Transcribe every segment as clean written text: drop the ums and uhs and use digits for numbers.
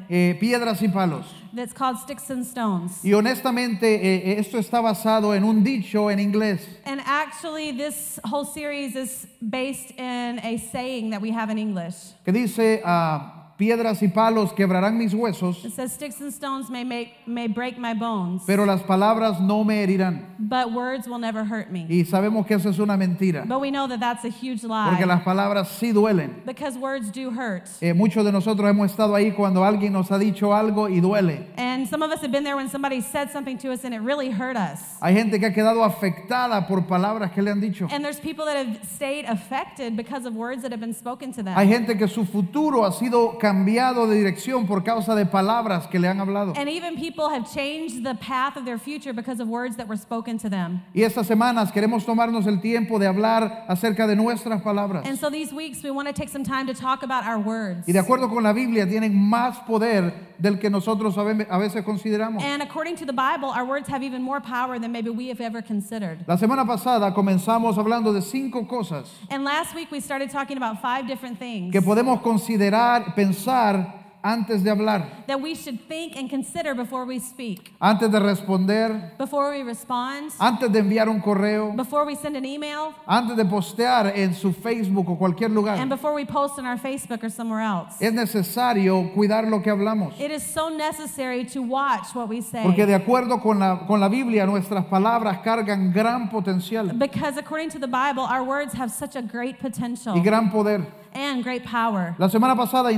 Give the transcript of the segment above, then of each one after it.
Piedras y Palos. that's called Sticks and Stones. Y honestamente, esto está basado en un dicho en inglés. And actually, this whole series is based in a saying that we have in English. Que dice, piedras y palos quebrarán mis huesos, It says, sticks and stones may break my bones, pero las palabras no me herirán. but words will never hurt me. Y sabemos que eso es una mentira, But we know that that's a huge lie, porque las palabras sí duelen. because words do hurt. Muchos de nosotros hemos estado ahí cuando alguien nos ha dicho algo y duele. And some of us have been there when somebody said something to us and it really hurt us. Hay gente que ha quedado afectada por palabras que le han dicho. And there's people that have stayed affected because of words that have been spoken to them. Hay gente que su futuro ha sido cambiado de dirección por causa de palabras que le han hablado. And even people have changed the path of their future because of words that were spoken to them. Y estas semanas queremos tomarnos el tiempo de hablar acerca de nuestras palabras. And so these weeks we want to take some time to talk about our words. Y de acuerdo con la Biblia tienen más poder del que nosotros a veces consideramos. And according to the Bible, our words have even more power than maybe we have ever considered. La semana pasada comenzamos hablando de 5 cosas And last week we started talking about 5 different things que podemos considerar, pensar antes de hablar, that we should think and consider before we speak, antes de responder, before we respond, antes de enviar un correo, before we send an email, antes de postear en su Facebook o cualquier lugar. and before we post on our Facebook or somewhere else. Es necesario cuidar lo que hablamos, It is so necessary to watch what we say. porque de acuerdo con la Biblia nuestras palabras cargan gran potencial Because according to the Bible, our words have such a great potential y gran poder. and great power. La semana pasada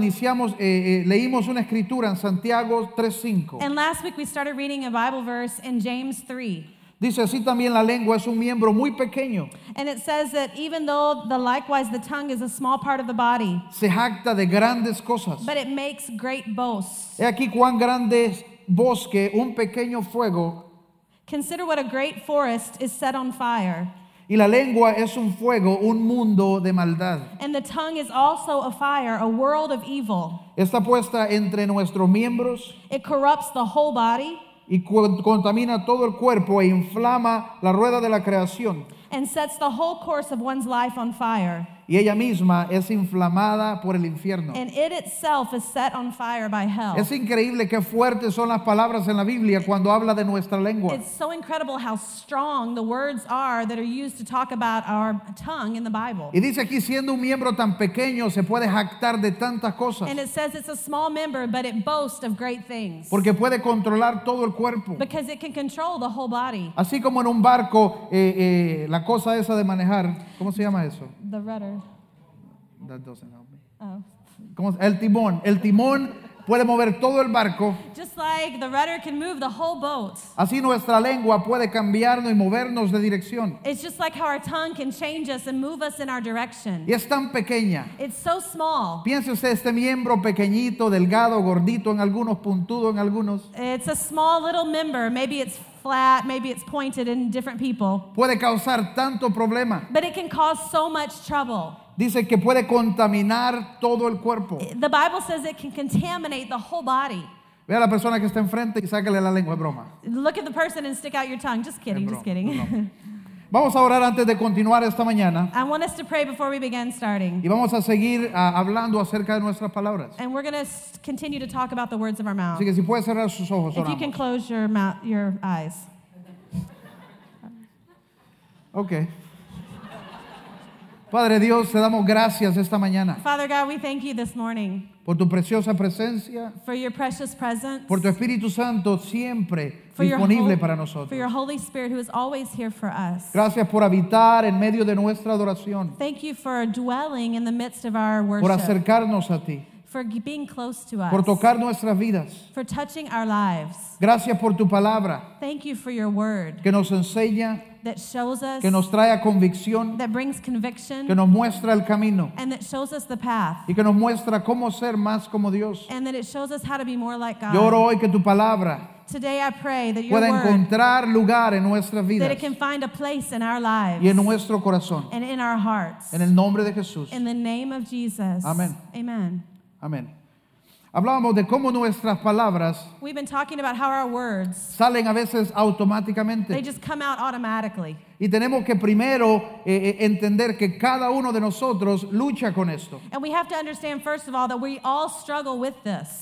leímos una escritura en Santiago 3:5. And last week we started reading a Bible verse in James 3. Dice, así también la lengua es un miembro muy pequeño, And it says that even though likewise the tongue is a small part of the body, se jacta de grandes cosas. but it makes great boasts. He aquí cuán grande es bosque, un pequeño fuego, Consider what a great forest is set on fire. y la lengua es un fuego, un mundo de maldad. And the tongue is also a fire, a world of evil. Está puesta entre nuestros miembros It corrupts the whole body y contamina todo el cuerpo e inflama la rueda de la creación. and sets the whole course of one's life on fire. Y ella misma es inflamada por el infierno. And it itself is set on fire by hell. Es increíble qué fuertes son las palabras en la Biblia cuando habla de nuestra lengua. It's so incredible how strong the words are that are used to talk about our tongue in the Bible. Y dice aquí, siendo un miembro tan pequeño, se puede jactar de tantas cosas, And it says it's a small member, but it boasts of great things. porque puede controlar todo el cuerpo. Because it can control the whole body. Así como en un barco, la cosa esa de manejar, ¿cómo se llama eso? The rudder. That doesn't help me. Oh. El timón. El timón puede mover todo el barco. Just like the rudder can move the whole boat. Así nuestra lengua puede cambiarnos y movernos de dirección. It's just like how our tongue can change us and move us in our direction. Y es tan pequeña. It's so small. Piense usted este miembro pequeñito, delgado, gordito en algunos, puntudo en algunos. It's a small little member. Maybe it's flat, maybe it's pointed in different people. Puede causar tanto problema. But it can cause so much trouble. Dice que puede contaminar todo el cuerpo. The Bible says it can contaminate the whole body. Ve a la persona que está enfrente y sácale la lengua, es broma. Look at the person and stick out your tongue. Just kidding, Es just broma, kidding. es broma. Vamos a orar antes de continuar esta mañana I want us to pray before we begin starting. y vamos a seguir hablando acerca de nuestras palabras. And we're going to continue to talk about the words of our mouth. Así que si puede cerrar sus ojos, If you can oramos. close your eyes. Ok. Padre Dios, te damos gracias esta mañana Father God, we thank you this morning por tu preciosa presencia, for your precious presence, por tu Espíritu Santo siempre for your, disponible para for nosotros. your Holy Spirit who is always here for us. Gracias por habitar en medio de nuestra adoración, Thank you for dwelling in the midst of our por worship, acercarnos a ti, for being close to us, por tocar nuestras vidas. for touching our lives. Gracias por tu palabra Thank you for your word que nos enseña, that shows us, que nos trae a convicción, that brings conviction, que nos muestra el camino and that shows us the path, y que nos muestra cómo ser más como Dios. and that it shows us how to be more like God. Yo oro hoy que tu palabra Today I pray that your pueda word, encontrar lugar en nuestras that vidas it can find a place in our lives y en nuestro corazón. and in our hearts. En el nombre de Jesús. In the name of Jesus. Amén. Amen. Amén. Hablábamos de cómo nuestras palabras We've been talking about how our words, salen a veces they automáticamente. just come out automatically. Y tenemos que primero entender que cada uno de nosotros lucha con esto. And we have to understand, first of all, that we all struggle with this.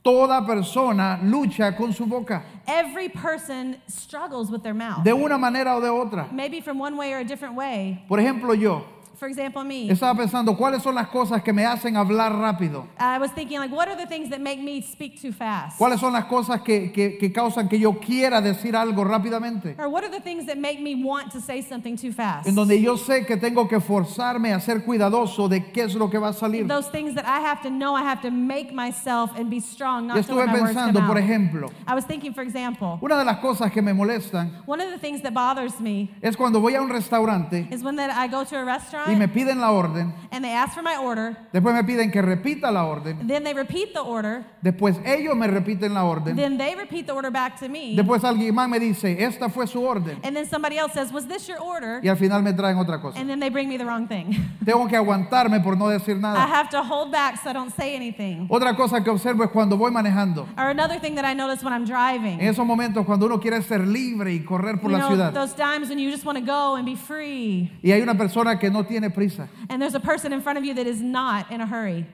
Toda persona lucha con su boca, Every person struggles with their mouth. de una manera o de otra. Maybe from one way or a different way. Por ejemplo, yo For example, me. estaba pensando, ¿cuáles son las cosas que me hacen hablar rápido? I was thinking, like, what are the things that make me speak too fast? ¿Cuáles son las cosas que causan que yo quiera decir algo rápidamente? Or what are the things that make me want to say something too fast? En donde yo sé que tengo que forzarme a ser cuidadoso de qué es lo que va a salir. Those things that I have to know, I have to make myself and be strong, Y not to estuve let my words come pensando, por out. ejemplo, I was thinking, for example, una de las cosas que me molestan one of the things that bothers me es cuando voy a un restaurante is when that I go to a restaurant y me piden la orden, and they ask for my order, después me piden que repita la orden, then they repeat the order, después ellos me repiten la orden, then they repeat the order back to me, después alguien más me dice, esta fue su orden, and then somebody else says, was this your order? y al final me traen otra cosa. And then they bring me the wrong thing. Tengo que aguantarme por no decir I nada. have to hold back so I don't say anything. Otra cosa que observo es cuando voy manejando. Or another thing that I notice when I'm driving. En esos momentos cuando uno quiere ser libre y correr por You la know, ciudad. those times when you just want to go and be free. Y hay una persona que no tiene prisa. And there's a person in front of you that is not in a hurry.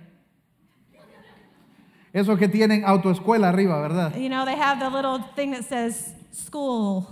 Esos que tienen autoescuela arriba, ¿verdad? You know, they have the little thing that says school.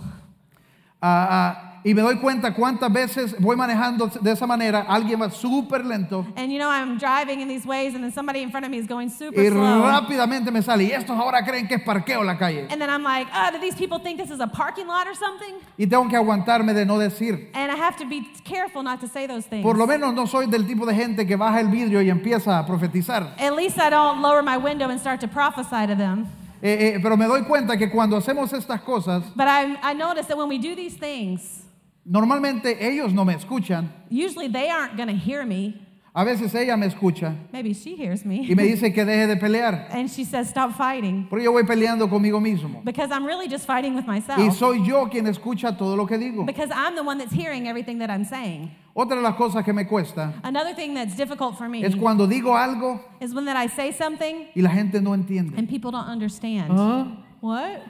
Y me doy cuenta cuántas veces voy manejando de esa manera, alguien va súper lento And you know, I'm driving in these ways and then somebody in front of me is going super y slow. rápidamente me sale. Y estos ahora creen que es parqueo la calle. And then I'm like, do these people think this is a parking lot or something? Y tengo que aguantarme de no decir. And I have to be careful not to say those things. Por lo menos no soy del tipo de gente que baja el vidrio y empieza a profetizar. At least I don't lower my window and start to prophesy to them. Pero me doy cuenta que cuando hacemos estas cosas, But I notice that when we do these things, normalmente ellos no me escuchan. usually they aren't going to hear me. A veces ella me escucha Maybe she hears y me. me dice que deje de pelear. And she says, stop fighting. Pero yo voy peleando conmigo mismo. Because I'm really just fighting with Y myself. soy yo quien escucha todo lo que digo. Because I'm the one that's hearing everything that I'm saying. Otra de las cosas que me cuesta Another thing that's difficult for me es cuando digo algo is when that I say something y la gente no entiende. and people don't understand. ¿Ah? What?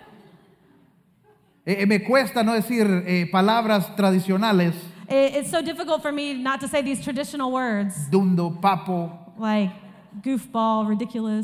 Me cuesta no decir palabras tradicionales, It's so difficult for me not to say these traditional words dundo, papo. like goofball, ridiculous.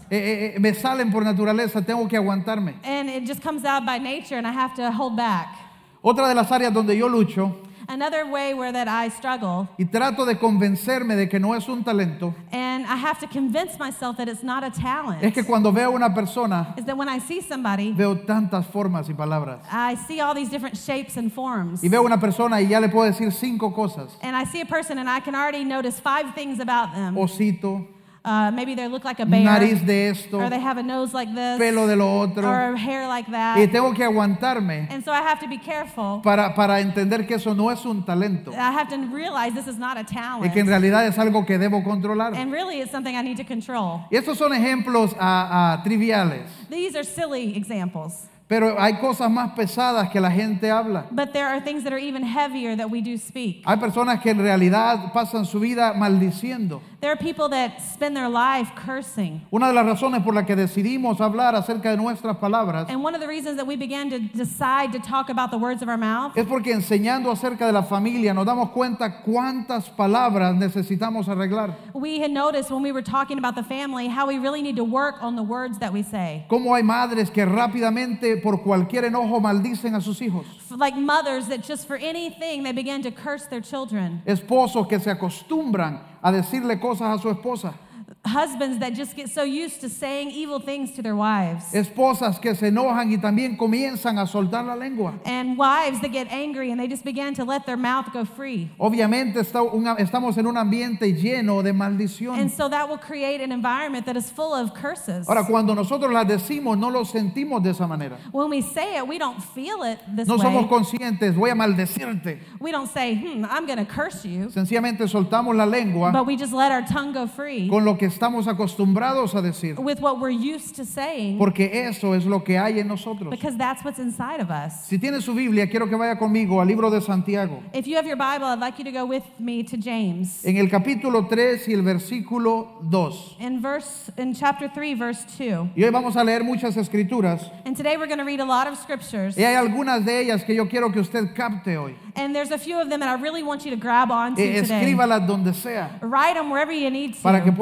Me salen por naturaleza, tengo que aguantarme. And it just comes out by nature and I have to hold back. Otra de las áreas donde yo lucho Another way where that I struggle, y trato de convencerme de que no es un talento, and I have to convince myself that it's not a talent, es que cuando veo a una persona, is that when I see somebody, veo tantas formas y palabras. I see all these different shapes and forms. Y veo a una persona y ya le puedo decir 5 cosas. And I see a person and I can already notice 5 things about them. Osito, Maybe they look like a bear, nariz de esto, or they have a nose like this, pelo de lo otro. or hair like Y that. tengo que aguantarme And so I have to be careful. para entender que eso no es un talento. I have to realize this is not a Y talent. que en realidad es algo que debo controlar. And really it's something I need to control. Y estos son ejemplos triviales. These are silly examples. Pero hay cosas más pesadas que la gente habla. But there are things that are even heavier that we do speak. Hay personas que en realidad pasan su vida maldiciendo. There are people that spend their life cursing. Una de las razones por las que decidimos hablar acerca de nuestras palabras And one of the reasons that we began to decide to talk about the words of our mouth es porque enseñando acerca de la familia nos damos cuenta cuántas palabras necesitamos arreglar. we had noticed when we were talking about the family how we really need to work on the words that we say. Cómo hay madres que rápidamente por cualquier enojo maldicen a sus hijos. Like mothers that just for anything they begin to curse their children. Esposos que se acostumbran a decirle cosas a su esposa. Husbands that just get so used to saying evil things to their wives. Esposas que se enojan y también comienzan a soltar la lengua. And wives that get angry and they just begin to let their mouth go free. Obviamente estamos en un ambiente lleno de maldición. And so that will create an environment that is full of curses. Ahora, cuando nosotros las decimos, no lo sentimos de esa manera. When we say it, we don't feel it this No somos way. conscientes, voy a maldecirte. We don't say, I'm going to curse you. Sencillamente soltamos la lengua But we just let our tongue go free con lo que estamos acostumbrados a decir. with what we're used to saying Porque eso es lo que hay en nosotros. because that's what's inside of us. Si tiene su Biblia, quiero que vaya conmigo al libro de Santiago. If you have your Bible, I'd like you to go with me to James. En el capítulo 3 y el versículo 2. In chapter 3, verse 2. Y hoy vamos a leer muchas escrituras. And today we're going to read a lot of scriptures. Y hay algunas de ellas que yo quiero que usted capte hoy. And there's a few of them that I really want you to grab onto today. Escríbalas donde sea Write them wherever you need para que to pueda leerlas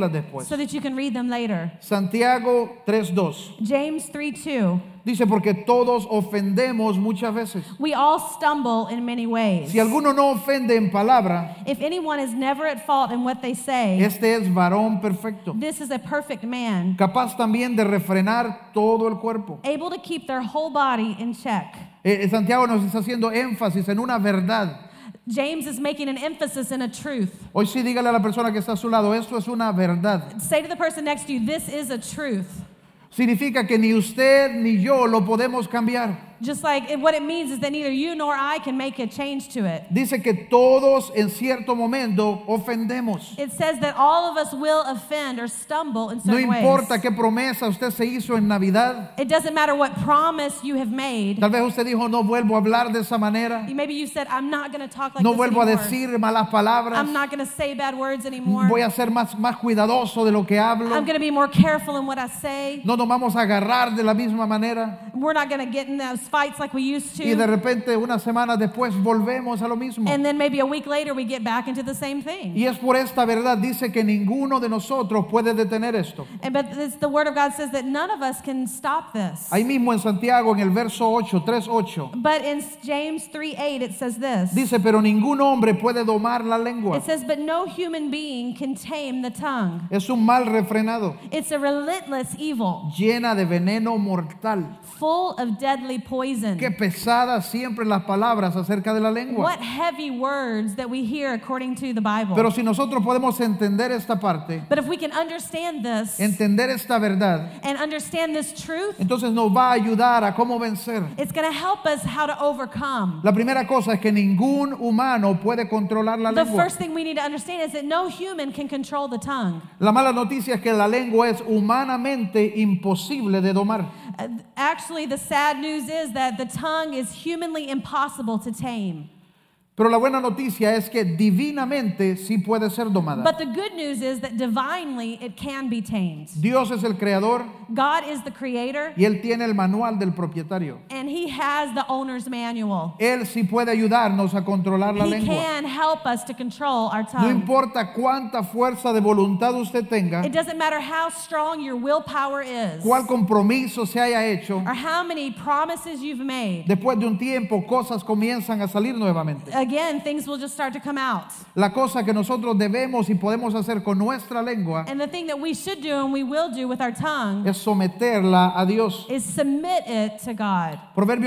leerlas después. so that you can read them later. Santiago 3:2 James 3:2. dice, porque todos ofendemos muchas veces. We all stumble in many ways. Si alguno no ofende en palabra, If anyone is never at fault in what they say, este es varón perfecto, this is a perfect man, capaz también de refrenar todo el cuerpo. able to keep their whole body in check. Santiago nos está haciendo énfasis en una verdad. James is making an emphasis in a truth. Hoy sí dígale a la persona que está a su lado, esto es una verdad. Say to the person next to you, this is a truth. Significa que ni usted ni yo lo podemos cambiar. Just like what it means is that neither you nor I can make a change to it. Dice que todos en cierto momento ofendemos. It says that all of us will offend or stumble in No certain importa ways. qué promesa usted se hizo en Navidad. It doesn't matter what promise you have made. Tal vez usted dijo, no vuelvo a hablar de esa manera. Maybe you said, I'm not going to talk like No this vuelvo a anymore. decir malas palabras. I'm not going to say bad words anymore. Voy a ser más cuidadoso de lo que hablo. I'm going to be more careful in what I say. No nos vamos a agarrar de la misma manera. We're not going to get in those fights like we used Y de to. repente, unas semanas después, volvemos a lo mismo. And then maybe a week later we get back into the same thing. Y es por esta verdad, dice que ninguno de nosotros puede detener esto. But the Word of God says that none of us can stop this. Ahí mismo en Santiago, en el verso 8, 3:8, But in James 3:8 it says this. dice, pero ningún hombre puede domar la lengua. It says, but no human being can tame the tongue. Es un mal refrenado, It's a relentless evil, llena de veneno mortal. full of deadly poison. Qué pesadas siempre las palabras acerca de la lengua. What heavy words that we hear according to the Bible. Pero si nosotros podemos entender esta parte, But if we can understand this entender esta verdad, and understand this truth, entonces nos va a ayudar a cómo vencer. it's going to help us how to overcome. La primera cosa es que ningún humano puede controlar la The lengua. first thing we need to understand is that no human can control the tongue. La mala noticia es que la lengua es humanamente imposible de domar. Actually, the sad news is that the tongue is humanly impossible to tame. Pero la buena noticia es que divinamente sí puede ser domada. But the good news is that divinely it can be tamed. Dios es el creador God is the creator, y Él tiene el manual del propietario. and He has the owner's manual. Él sí puede ayudarnos a controlar la He lengua. can help us to control our No tongue. importa cuánta fuerza de voluntad usted tenga, It doesn't matter how strong your willpower is, cuál compromiso se haya hecho, or how many promises you've made. después de un tiempo cosas comienzan a salir nuevamente. Again, things will just start to come out. La cosa que nosotros debemos y podemos hacer con nuestra lengua And the thing that we should do and we will do with our tongue es someterla a Dios. is submit it to God. Proverbios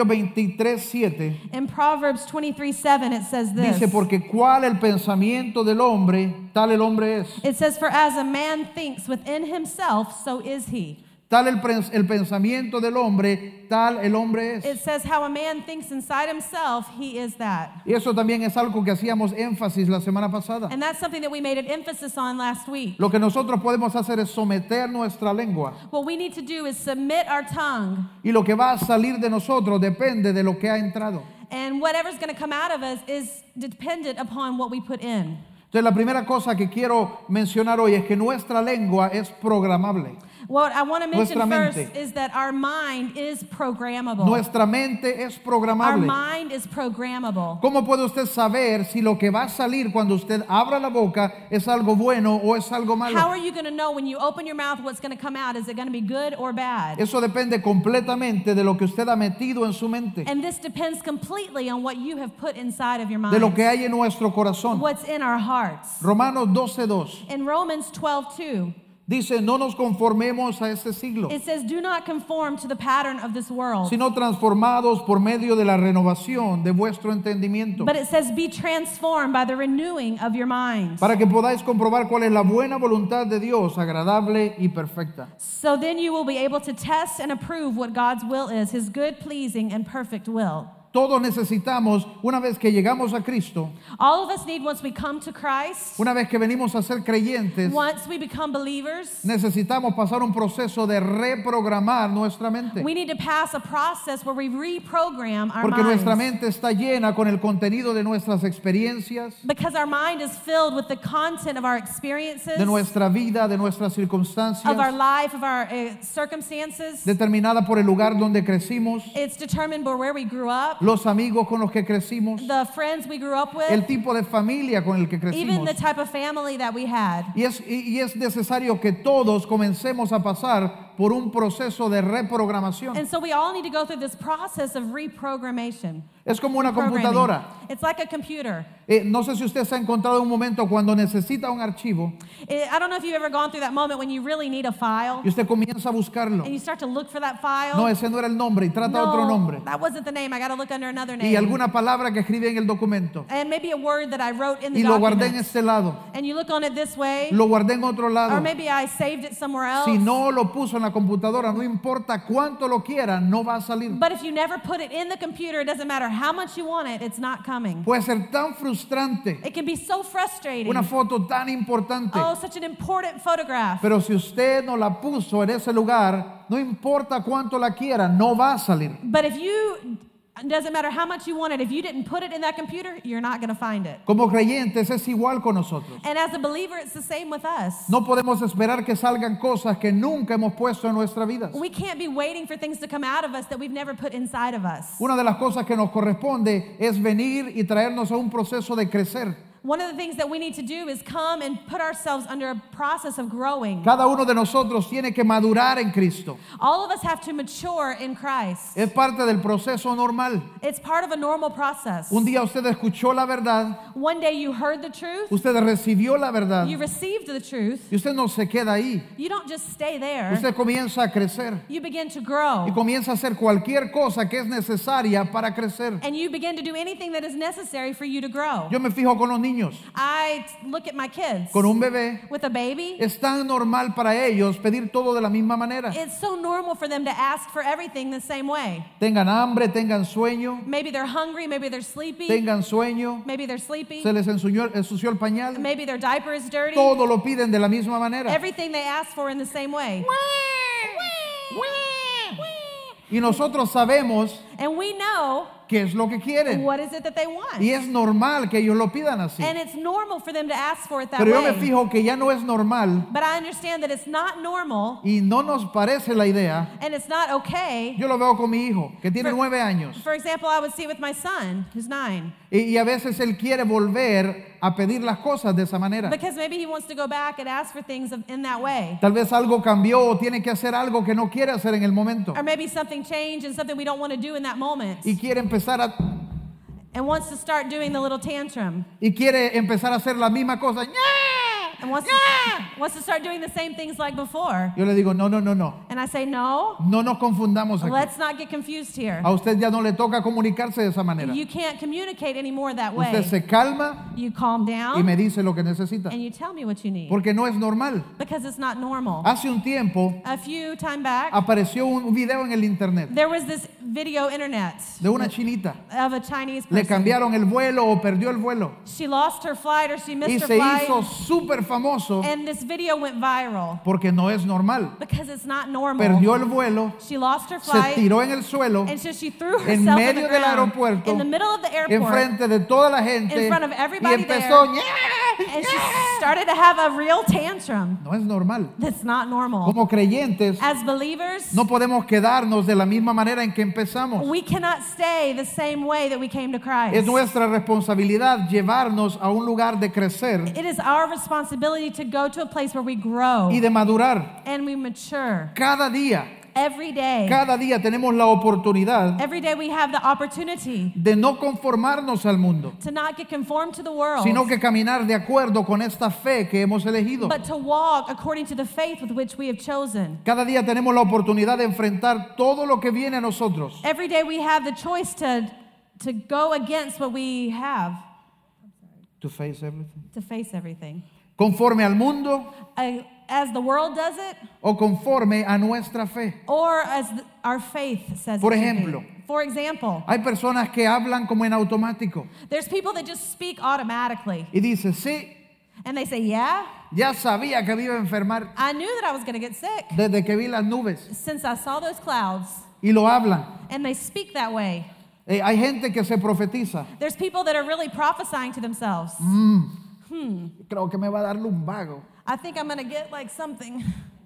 23:7 In Proverbs 23:7 it says this. dice, porque cuál el pensamiento del hombre, tal el hombre es. It says, for as a man thinks within himself, so is he. Tal el pensamiento del hombre, tal el hombre es. It says how a man thinks inside himself, he is that. Y eso también es algo que hacíamos énfasis la semana pasada. And that's something that we made an emphasis on last week. Lo que nosotros podemos hacer es someter nuestra lengua. What we need to do is submit our tongue, Y lo que va a salir de nosotros depende de lo que ha entrado. and whatever's going to come out of us is dependent upon what we put in. Entonces la primera cosa que quiero mencionar hoy es que nuestra lengua es programable. What I want to mention Nuestra first mente. is that our mind is programmable. Nuestra mente es Our programable. mind is programmable. ¿Cómo puede usted saber si lo que va a salir cuando usted abra la boca es algo bueno o es algo How malo? are you going to know when you open your mouth what's going to come out? Is it going to be good or bad? Eso depende completamente de lo que usted ha metido en su mente, And this depends completely on what you have put inside of your mind. de lo que hay en nuestro corazón. What's in our hearts. Romanos 12:2 In Romans 12:2, dice, no nos conformemos a este siglo, it says, do not conform to the pattern of this world. sino transformados por medio de la renovación de vuestro entendimiento, But it says, be transformed by the renewing of your mind. para que podáis comprobar cuál es la buena voluntad de Dios, agradable y perfecta. So then you will be able to test and approve what God's will is, His good, pleasing, and perfect will. Todos necesitamos, una vez que llegamos a Cristo, All of us need, once we come to Christ, una vez que venimos a ser creyentes, once we become believers, necesitamos pasar un proceso de reprogramar nuestra mente. we need to pass a process where we reprogram our Porque nuestra minds. mente está llena con el contenido de nuestras experiencias, Because our mind is filled with the content of our experiences, de nuestra vida, de nuestras of our circunstancias, life, of our circumstances. determinada por el lugar donde crecimos, It's determined by where we grew up, los amigos con los que crecimos, the friends we grew up with, el tipo de familia con el que even crecimos. the type of family that we had. Y es necesario que todos comencemos a pasar por un proceso de reprogramación. And so we all need to go through this process of reprogrammation. Es como una Programming. computadora. It's like a computer. No sé si usted se ha encontrado un momento cuando necesita un archivo I don't know if you've ever gone through that moment when you really need a file y usted comienza a buscarlo. and you start to look for that file. No, ese no era el nombre y trata otro nombre. That wasn't the name. I got to look under another name. Y alguna palabra que escribí en el documento. And maybe a word that I wrote in the Y lo guardé document. en este lado. And you look on it this way. Lo guardé en otro Or lado. maybe I saved it somewhere else. Si no lo puso en la computadora, no importa cuánto lo quiera, no va a salir. But if you never put it in the computer, it doesn't matter how much you want it, it's not coming. Puede ser tan frustrante. It can be so frustrating. Una foto tan importante. Oh, such an important photograph. Pero si usted no la puso en ese lugar, no importa cuánto la quiera, no va a salir. But if you, it doesn't matter how much you want it, if you didn't put it in that computer, you're not going to find it. Como creyentes es igual con nosotros. And as a believer, it's the same with us. No podemos esperar que salgan cosas que nunca hemos puesto en nuestra vida. We can't be waiting for things to come out of us that we've never put inside of us. Una de las cosas que nos corresponde es venir y traernos a un proceso de crecer. One of the things that we need to do is come and put ourselves under a process of growing. Cada uno de nosotros tiene que madurar en Cristo. All of us have to mature in Christ. Es parte del proceso normal. It's part of a normal process. Un día usted escuchó la verdad, One day you heard the truth, usted recibió la verdad you received the truth, y usted no se queda ahí. you don't just stay there, Usted comienza a crecer you begin to y grow. comienza a hacer cualquier cosa que es necesaria para crecer. And you begin to do anything that is necessary for you to grow. Yo me fijo con los niños, I look at my kids con un bebé. with a baby. Es tan normal para ellos pedir todo de la misma manera. It's so normal for them to ask for everything the same way. Tengan hambre, tengan sueño, Maybe they're hungry, maybe they're sleepy, tengan sueño, maybe they're sleepy, se les ensució el pañal. maybe their diaper is dirty. Todo lo piden de la misma manera. Everything they ask for in the same way. Y nosotros sabemos And we know qué es lo que quieren. what is it that they want. Y es normal que ellos lo pidan así. And it's normal for them to ask for it that Pero yo me way. fijo que ya no es normal But I understand that it's not normal y no nos parece la idea. and it's not okay. Yo lo veo con mi hijo, que tiene For- 9 años. For example, I would see it with my son, who's 9. Y a veces él quiere volver a pedir las cosas de esa manera. Because maybe he wants to go back and ask for things in that way. Tal vez algo cambió o tiene que hacer algo que no quiere hacer en el momento. Or maybe something changed and something we don't want to do in that moment. Y quiere empezar a And wants to start doing the little tantrum. a hacer la misma cosa. ¡Ña! And wants to start doing the same things like before. Yo le digo, no. And I say, no, No nos confundamos aquí. let's not get confused here. A usted ya no le toca comunicarse de esa manera. You can't communicate anymore that Usted way. se calma You calm y down me dice lo que necesita. and you tell me what you need. Porque no es normal. Because it's not normal. Hace un tiempo A few time back, apareció un video en el internet there was this video internet de una chinita. of a Chinese Le person. cambiaron el vuelo o perdió el vuelo. She lost her flight or she Y missed her se flight. hizo súper famoso And this video went viral porque no es normal. because it's not normal. Perdió el vuelo, She lost her se flight. tiró en el suelo, And so she threw herself en in the medio del ground, aeropuerto, in the middle of the airport, enfrente de toda la gente in front of y everybody empezó. there. And she started to have a real tantrum. No es normal. That's not normal. Como creyentes, As believers, no podemos quedarnos de la misma manera en que empezamos. we cannot stay the same way that we came to Christ. Es nuestra responsabilidad llevarnos a un lugar de crecer It is our responsibility to go to a place where we grow y de madurar. and we mature. Cada día Every día tenemos la oportunidad day we have the opportunity de no conformarnos al mundo, to not get conformed to the world, sino que caminar de acuerdo con esta fe que hemos elegido. but to walk according to the faith with which we have chosen. Cada día tenemos la oportunidad de enfrentar todo lo que viene a nosotros. Every day we have the choice to go against what we have, To face everything. to face everything. Conforme al mundo As the world does it, o conforme a nuestra fe. or as our faith says Por it should be. ejemplo. For example, Hay personas que hablan como en automático there's people that just speak automatically. y dicen, sí, And they say, yeah, ya sabía que me iba a enfermar I knew that I was going to get sick desde que vi las nubes, since I saw those clouds. y lo hablan. And they speak that way. Hay gente que se profetiza. There's people that are really prophesying to themselves. Creo que me va a dar lumbago. I think I'm going to get like something.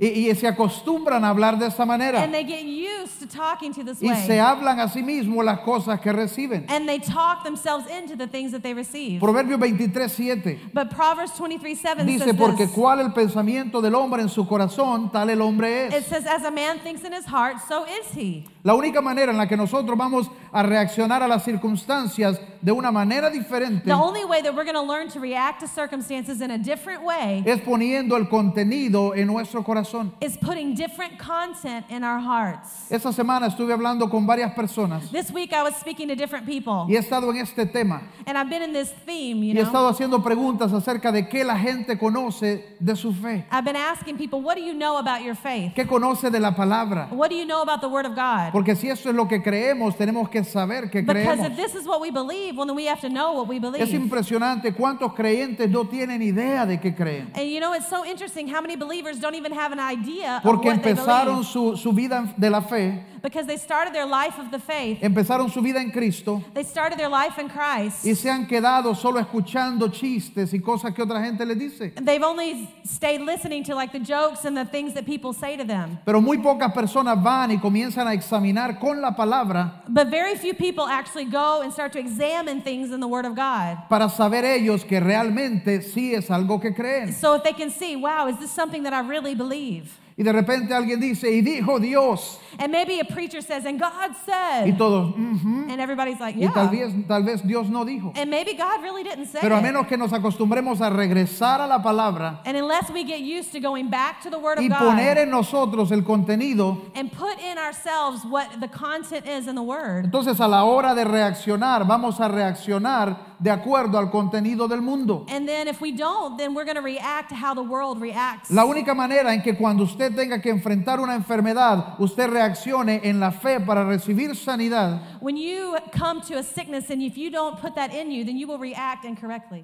y se acostumbran a hablar de esa manera. And they get used to talking to this Y se way. hablan a sí mismos las cosas que reciben. And they talk themselves into the things that they receive. Proverbios 23:7 But Proverbs 23:7 dice, says porque this. cuál el pensamiento del hombre en su corazón, tal el hombre It es. says, as a man thinks in his heart, so is he. La única manera en la que nosotros vamos a reaccionar a las circunstancias de una manera diferente The only way that we're going to learn to react to circumstances in a different way es poniendo el contenido en nuestro corazón. is putting different content in our hearts. Esta semana estuve hablando con varias personas This week I was speaking to different people, y he estado en este tema and I've been in this theme, y he estado haciendo preguntas acerca de qué la gente conoce de su fe, I've been asking people, what do you know about your faith? qué conoce de la palabra. What do you know about the Word of God? Porque si eso es lo que creemos, tenemos que saber que Because creemos. if this is what we believe, well, then we have to know what we Es believe. impresionante cuántos creyentes no tienen idea de qué creen. And it's so interesting how many believers don't even have an idea of Porque what they empezaron believe. su vida de la fe, Because they started their life of the faith. empezaron su vida en Cristo They started their life in Christ. y se han quedado solo escuchando chistes y cosas que otra gente les dice. They've only stayed listening to like the jokes and the things that people say to them. Pero muy pocas personas van y comienzan a examinar con la palabra But very few people actually go and start to examine things in the Word of God. para saber ellos que realmente sí es algo que creen. So if they can see, wow, is this something that I really believe? Y de repente alguien dice, y dijo Dios. And maybe a preacher says, and God Y said. todos, "Ujú". And everybody's like, Y tal yeah. vez Dios no dijo. And maybe God really didn't say Pero a it. menos que nos acostumbremos a regresar a la palabra And unless we get used to going back to the Word of y poner God en nosotros el contenido, and put in ourselves what the content is in the Word, entonces a la hora de reaccionar, vamos a reaccionar de acuerdo al contenido del mundo. and then if we don't, then we're going to react to how the world reacts. La única manera en que cuando usted tenga que enfrentar una enfermedad, usted reaccione en la fe para recibir sanidad, When you come to a sickness and if you don't put that in you, then you will react incorrectly.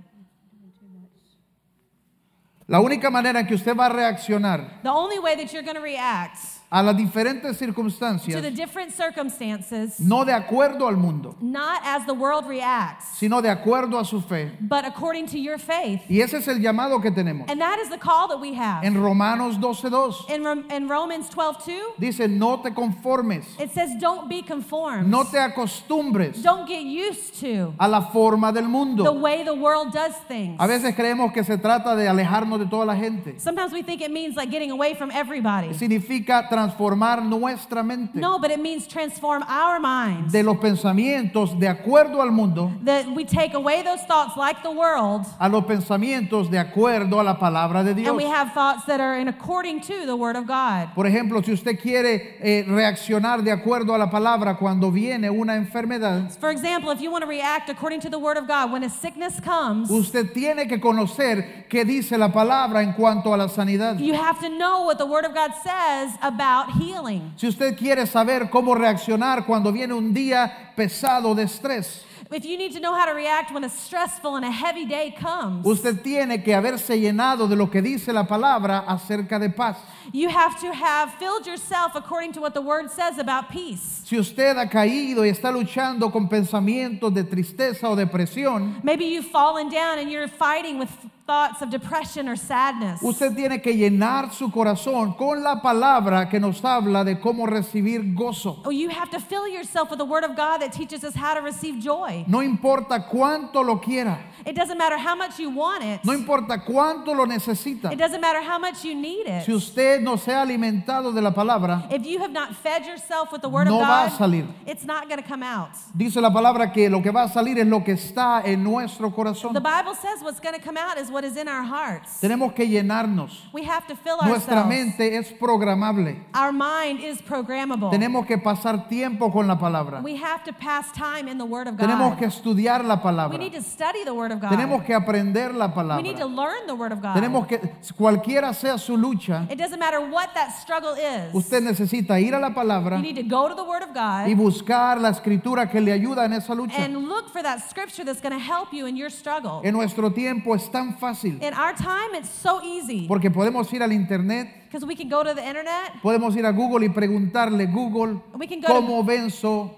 la única manera en que usted va a reaccionar The only way that you're going to react a las diferentes to the circunstancias, different circumstances, no de acuerdo al mundo, not as the world reacts, sino de acuerdo a su fe. but according to your faith. Y ese es el llamado que tenemos. And that is the call that we have. En Romanos 12:2 In Romans 12:2, dice, no te conformes, it says, don't be conformed. no te acostumbres Don't get used to a la forma del the mundo. way the world does things. A veces creemos que se trata de alejarnos de toda la gente. Sometimes we think it means like getting away from everybody. Significa transformar nuestra mente No, but it means transform our minds. de los pensamientos de acuerdo al mundo That we take away those thoughts like the world a los pensamientos de acuerdo a la palabra de Dios. and we have thoughts that are in according to the Word of God. Por ejemplo, si usted quiere reaccionar de acuerdo a la palabra cuando viene una enfermedad, For example, if you want to react according to the Word of God, when a sickness comes, usted tiene que conocer qué dice la palabra en cuanto a la sanidad. you have to know what the Word of God says about healing. Si usted quiere saber cómo reaccionar cuando viene un día pesado de estrés, If you need to know how to react when a stressful and a heavy day comes, usted tiene que haberse llenado de lo que dice la palabra acerca de paz. you have to have filled yourself according to what the Word says about peace. Si usted ha caído y está luchando con pensamientos de tristeza o depresión, Maybe you've fallen down and you're fighting with thoughts of depression or sadness. usted tiene que llenar su corazón con la palabra que nos habla de cómo recibir gozo. Oh, you have to fill yourself with the Word of God that teaches us how to receive joy. No importa cuánto lo quiera, It doesn't matter how much you want it. no importa cuánto lo necesita. It doesn't matter how much you need it. Si usted no se ha alimentado de la palabra, If you have not fed yourself with the Word no of va a God, salir. it's not going to come out. Dice la palabra que lo que va a salir es lo que está en nuestro corazón. The Bible says what's going to come out is what is in our hearts. Tenemos que llenarnos. We have to fill Nuestra ourselves. mente es programable. Our mind is programmable. Tenemos que pasar tiempo con la palabra. We have to pass time in the Word of Tenemos God. que estudiar la We palabra. need to study the Word of God. Tenemos que aprender la We need to palabra. learn the Word of God. Tenemos que, cualquiera sea su lucha, It doesn't matter what that struggle is. usted necesita ir a la palabra You need to go to the Word of y God buscar la escritura que le ayuda en esa lucha. and look for that scripture that's going to help you in your struggle. En nuestro tiempo es tan fácil In our time, it's so easy porque podemos ir al internet, because we can go to the internet. podemos ir a Google y preguntarle, Google, We can go to- ¿cómo venzo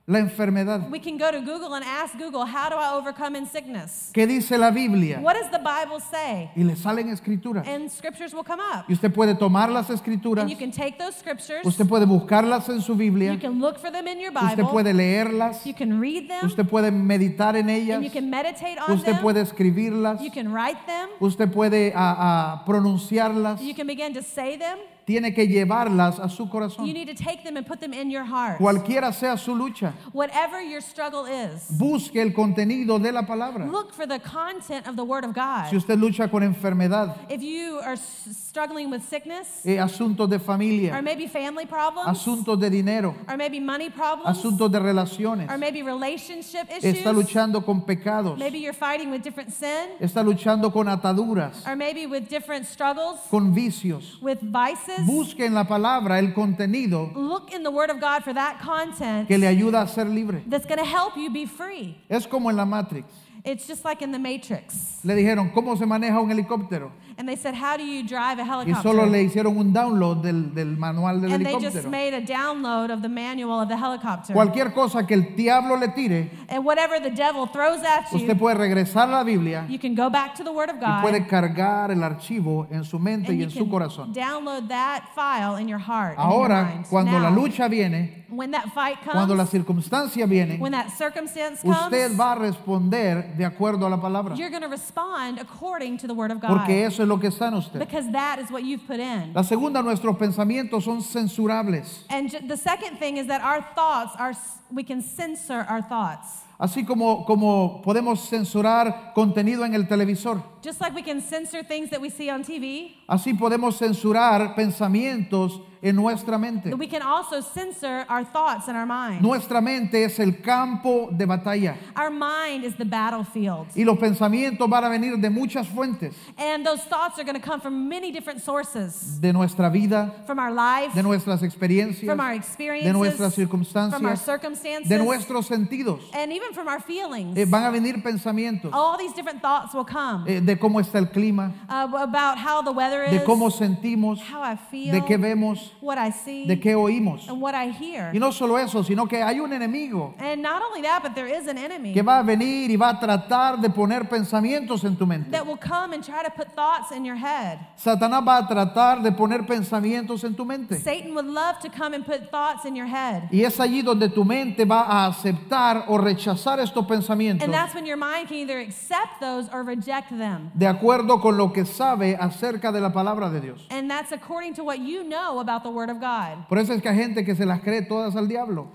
la enfermedad. We can go to Google and ask Google, how do I overcome in sickness? ¿Qué dice la Biblia? What does the Bible say? Y le salen escrituras. And scriptures will come up. Y usted puede tomar las escrituras, And you can take those scriptures. usted puede buscarlas en su Biblia, You can look for them in your usted Bible. puede leerlas, You can read them. usted puede meditar en ellas, And you can meditate on usted them. puede escribirlas, You can write them. usted puede pronunciarlas. You can begin to say them. Tiene que llevarlas a su You corazón. need to take them and put them in your heart. Cualquiera sea su lucha, Whatever your struggle is, busque el contenido de la palabra. look for the content of the Word of God. Si usted lucha con enfermedad, If you are struggling with sickness, asuntos de or familia, maybe family problems, asuntos de dinero, or maybe money problems, asuntos de relaciones, or maybe relationship issues, está luchando con pecados, maybe you're fighting with different sin, está luchando con ataduras, or maybe with different struggles, con vicios. with vices, Busque en la palabra el contenido look in the Word of God for that content que le ayuda a ser libre. that's going to help you be free. Es como en la Matrix. It's just like in the Matrix. Le dijeron, ¿cómo se maneja un helicóptero? And they said, how do you drive a Y helicopter? solo le hicieron un download del manual del And they just helicóptero. made a download of the manual of the helicopter. Cualquier cosa que el diablo le tire, And whatever the devil throws at you, usted puede regresar a la Biblia you can go back to the Word of y God, puede cargar el archivo en su mente and y you en su can corazón. download that file in your heart. and in your Ahora, mind. cuando la Now, lucha viene, when that fight cuando comes, las circunstancias vienen, when that circumstance usted comes, va a responder de acuerdo a la palabra. you're going to respond according to the Word of God. Porque eso es lo que está en usted. Because that is what you've put in. La segunda, nuestros pensamientos son censurables. And the second thing is that our thoughts are, we can censor our thoughts. Así como podemos censurar contenido en el televisor, Just like we can censor things that we see on TV, así podemos censurar pensamientos en nuestra mente. we can also censor our thoughts in our mind. Nuestra mente es el campo de batalla Our mind is the battlefield. y los pensamientos van a venir de muchas fuentes, And those thoughts are going to come from many different sources. de nuestra vida, From our life, de nuestras experiencias, from our de experiences, nuestras from our circunstancias, circumstances, de nuestros sentidos. and even from our feelings. Van a venir pensamientos All these different thoughts will come de cómo está el clima, about how the weather is, de cómo sentimos, how I feel, de qué vemos, what I see, de qué oímos. and what I hear. Y no solo eso, sino que hay un enemigo And not only that, but there is an enemy que va a venir y va a tratar de poner pensamientos en tu mente. that will come and try to put thoughts in your head. Satanás va a tratar de poner pensamientos en tu mente. Satan would love to come and put thoughts in your head. Y es allí donde tu mente va a aceptar o rechazar estos pensamientos And that's when your mind can either accept those or reject them. de acuerdo con lo que sabe acerca de la palabra de Dios. And that's according to what you know about the Word of God. Por eso es que hay gente que se las cree todas al diablo.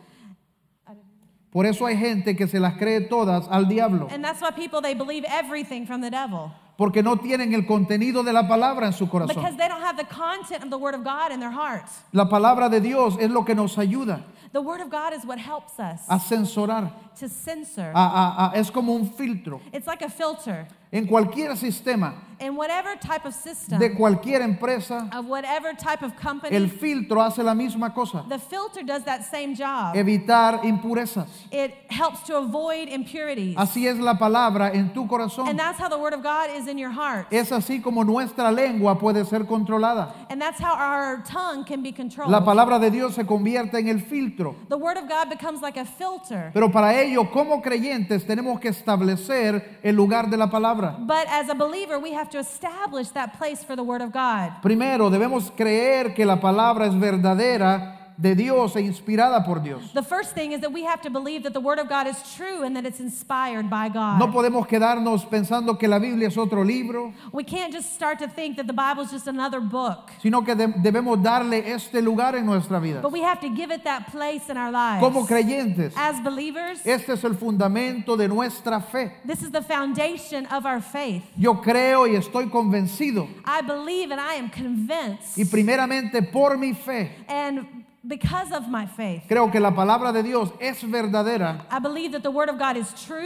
Por eso hay gente que se las cree todas al diablo. And that's why people, they believe everything from the devil. Porque no tienen el contenido de la palabra en su Because corazón. they don't have the content of the Word of God in their hearts. La palabra de Dios es lo que nos ayuda The Word of God is what helps us a censurar. to censor. Es como un filtro. It's like a filter. En cualquier sistema, In whatever type of system, de cualquier empresa, of whatever type of company, el filtro hace la misma cosa. the filter does that same job. Evitar impurezas. It helps to avoid impurities. Así es la palabra en tu And corazón. that's how the Word of God is in your heart. Es así como nuestra lengua puede ser controlada. And that's how our tongue can be controlled. La palabra de Dios se convierte en el filtro. The Word of God becomes like a filter. Pero para ello, como creyentes, tenemos que establecer el lugar de la palabra. But as a believer, we have to establish that place for the Word of God. Primero, debemos creer que la palabra es verdadera de Dios e inspirada por Dios. The first thing is that we have to believe that the Word of God is true and that it's inspired by God. No podemos quedarnos pensando que la Biblia es otro libro, We can't just start to think that the Bible is just another book. sino que debemos darle este lugar en nuestra vida. But we have to give it that place in our lives. Como creyentes, As believers, este es el fundamento de nuestra fe. this is the foundation of our faith. Yo creo y estoy convencido, I believe and I am convinced. y primeramente por mi fe, And because of my faith, creo que la palabra de Dios es verdadera I believe that the Word of God is truth